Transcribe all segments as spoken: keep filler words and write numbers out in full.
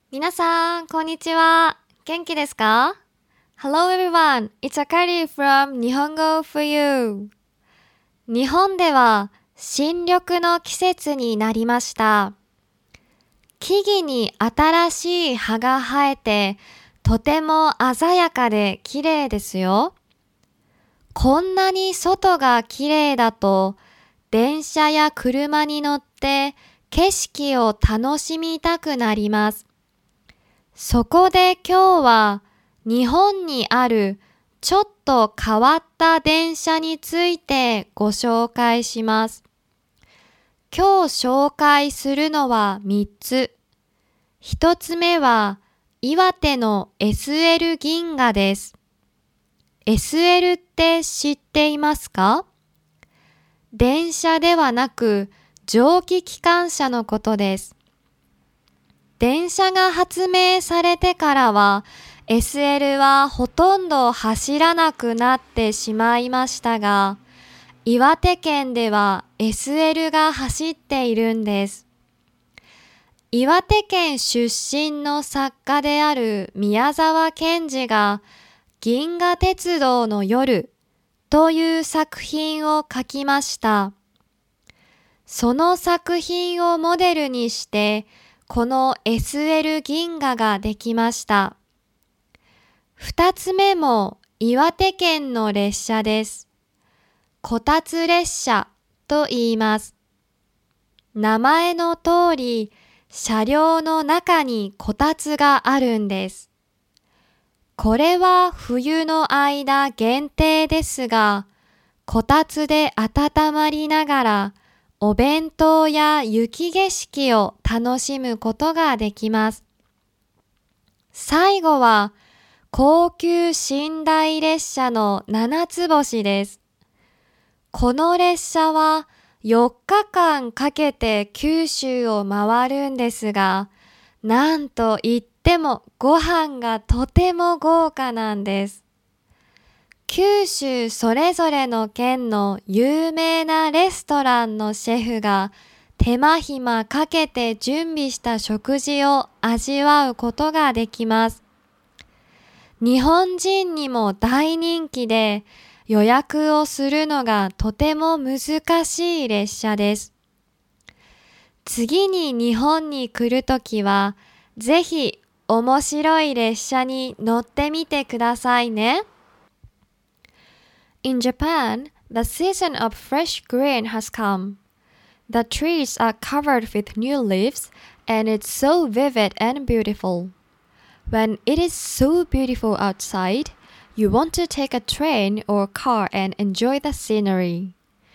皆さん、こんにちは。元気ですか？ Hello everyone, it's Akari from 日本語 for you. 日本では新緑の季節になりました。木々に新しい葉が生えて、とても鮮やかで綺麗ですよ。こんなに外が綺麗だと、電車や車に乗って景色を楽しみたくなります。そこで今日は日本にあるちょっと変わった電車についてご紹介します。今日紹介するのはみっつ。ひとつめは岩手の エスエル 銀河です。エスエル って知っていますか？電車ではなく蒸気機関車のことです。電車が発明されてからは エスエル はほとんど走らなくなってしまいましたが、岩手県では エスエル が走っているんです。岩手県出身の作家である宮沢賢治が銀河鉄道の夜という作品を書きました。その作品をモデルにしてこの エスエル 銀河ができました。二つ目も岩手県の列車です。こたつ列車と言います。名前の通り、車両の中にこたつがあるんです。これは冬の間限定ですが、こたつで温まりながら、お弁当や雪景色を楽しむことができます。最後は高級寝台列車の七つ星です。この列車はよっかかんかけて九州を回るんですが、なんといってもご飯がとても豪華なんです。九州それぞれの県の有名なレストランのシェフが手間暇かけて準備した食事を味わうことができます。日本人にも大人気で予約をするのがとても難しい列車です。次に日本に来るときはぜひ面白い列車に乗ってみてくださいね。In Japan, the season of fresh green has come. The trees are covered with new leaves, and it's so vivid and beautiful. When it is so beautiful outside, you want to take a train or car and enjoy the scenery.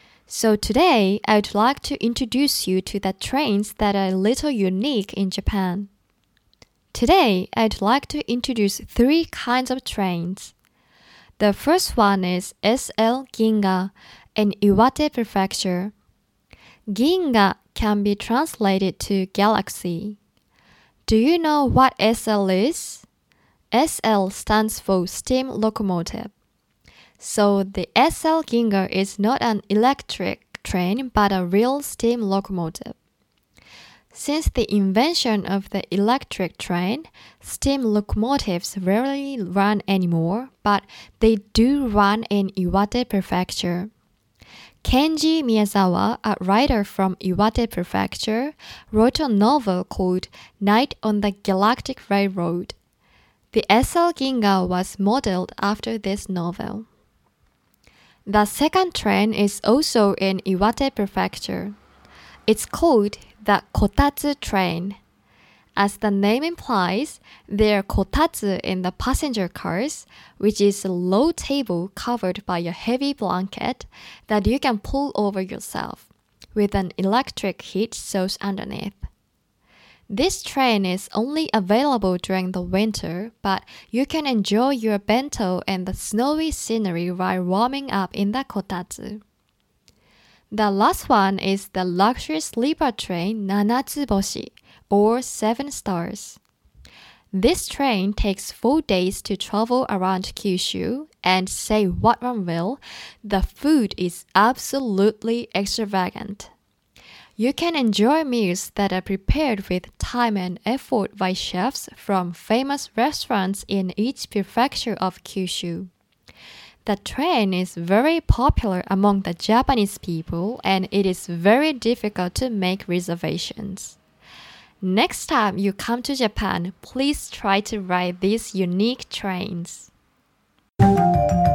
So today, I would like to introduce you to the trains that are a little unique in Japan. Today, I'd like to introduce three kinds of trains.The first one is エスエル Ginga in Iwate Prefecture. Ginga can be translated to galaxy. Do you know what エスエル is? エスエル stands for steam locomotive. So the エスエル Ginga is not an electric train but a real steam locomotive.Since the invention of the electric train, steam locomotives rarely run anymore, but they do run in Iwate Prefecture. Kenji Miyazawa, a writer from Iwate Prefecture, wrote a novel called Night on the Galactic Railroad. The エスエル Ginga was modeled after this novel. The second train is also in Iwate Prefecture. It's called.The Kotatsu train. As the name implies, there are kotatsu in the passenger cars, which is a low table covered by a heavy blanket that you can pull over yourself, with an electric heat source underneath. This train is only available during the winter, but you can enjoy your bento and the snowy scenery while warming up in the kotatsu.The last one is the luxury sleeper train Nanatsuboshi, or Seven Stars. This train takes four days to travel around Kyushu, and say what one will, the food is absolutely extravagant. You can enjoy meals that are prepared with time and effort by chefs from famous restaurants in each prefecture of Kyushu. The train is very popular among the Japanese people and it is very difficult to make reservations. Next time you come to Japan, please try to ride these unique trains.